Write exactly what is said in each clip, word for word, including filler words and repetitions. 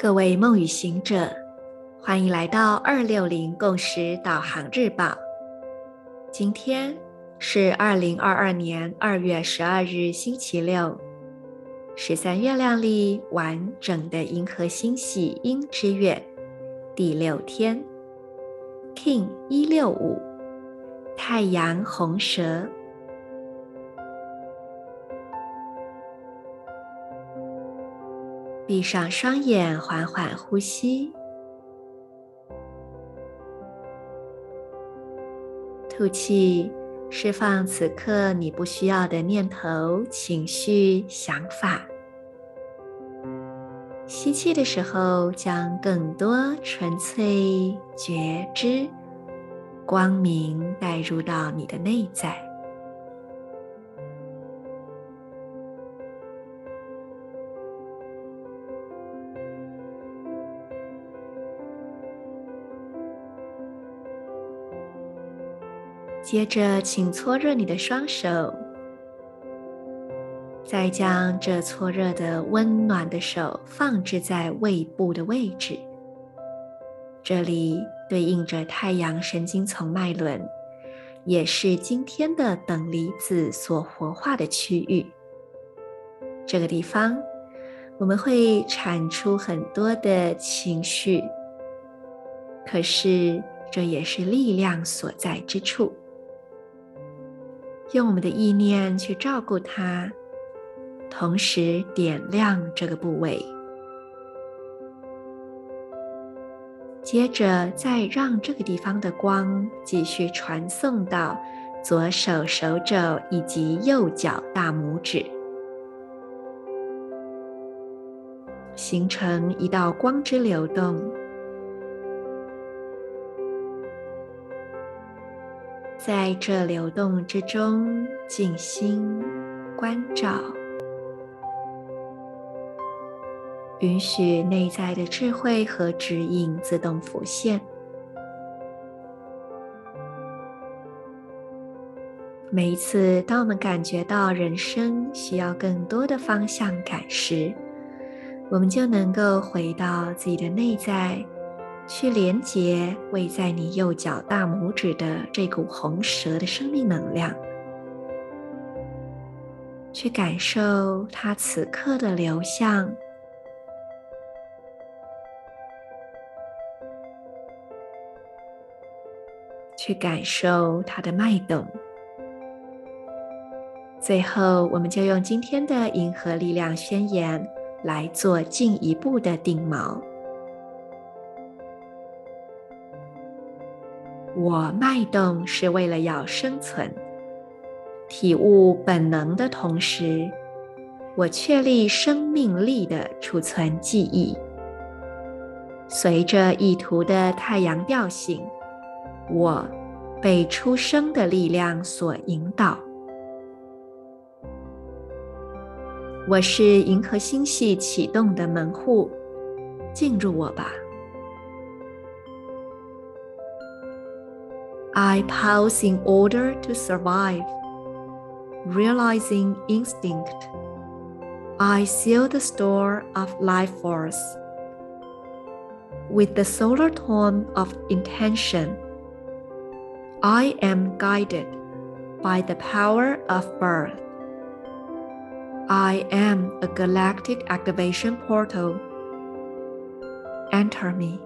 各位梦与行者，欢迎来到二六零共识导航日报。今天是二零二二年二月十二日星期六，十三月亮历完整的银河星系鹰之月第六天 King 一六五太阳红蛇。闭上双眼，缓缓呼吸，吐气，释放此刻你不需要的念头、情绪、想法。吸气的时候，将更多纯粹、觉知、光明带入到你的内在。接着，请搓热你的双手，再将这搓热的温暖的手放置在胃部的位置，这里对应着太阳神经丛脉轮，也是今天的等离子所活化的区域。这个地方，我们会产出很多的情绪，可是这也是力量所在之处。用我们的意念去照顾它，同时点亮这个部位，接着再让这个地方的光继续传送到左手手肘以及右脚大拇指，形成一道光之流动。在这流动之中，静心关照，允许内在的智慧和指引自动浮现。每一次当我们感觉到人生需要更多的方向感时，我们就能够回到自己的内在，去连接位在你右脚大拇指的这股红蛇的生命能量，去感受它此刻的流向，去感受它的脉动。最后，我们就用今天的银河力量宣言来做进一步的定锚。我脉动是为了要生存，体悟本能的同时，我确立生命力的储存记忆。随着意图的太阳调性，我被出生的力量所引导。我是银河星系启动的门户，进入我吧。I pause in order to survive, realizing instinct. I seal the store of life force with the solar tone of intention. I am guided by the power of birth. I am a galactic activation portal. Enter me.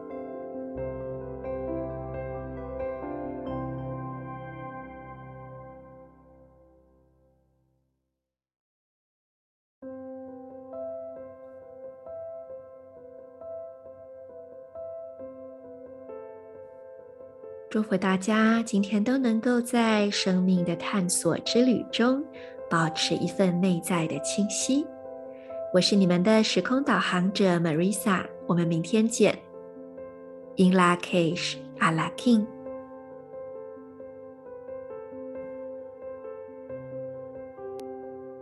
祝福大家今天都能够在生命的探索之旅中保持一份内在的清晰。我是你们的时空导航者 Marisa， 我们明天见。In Lak'ech, A La King。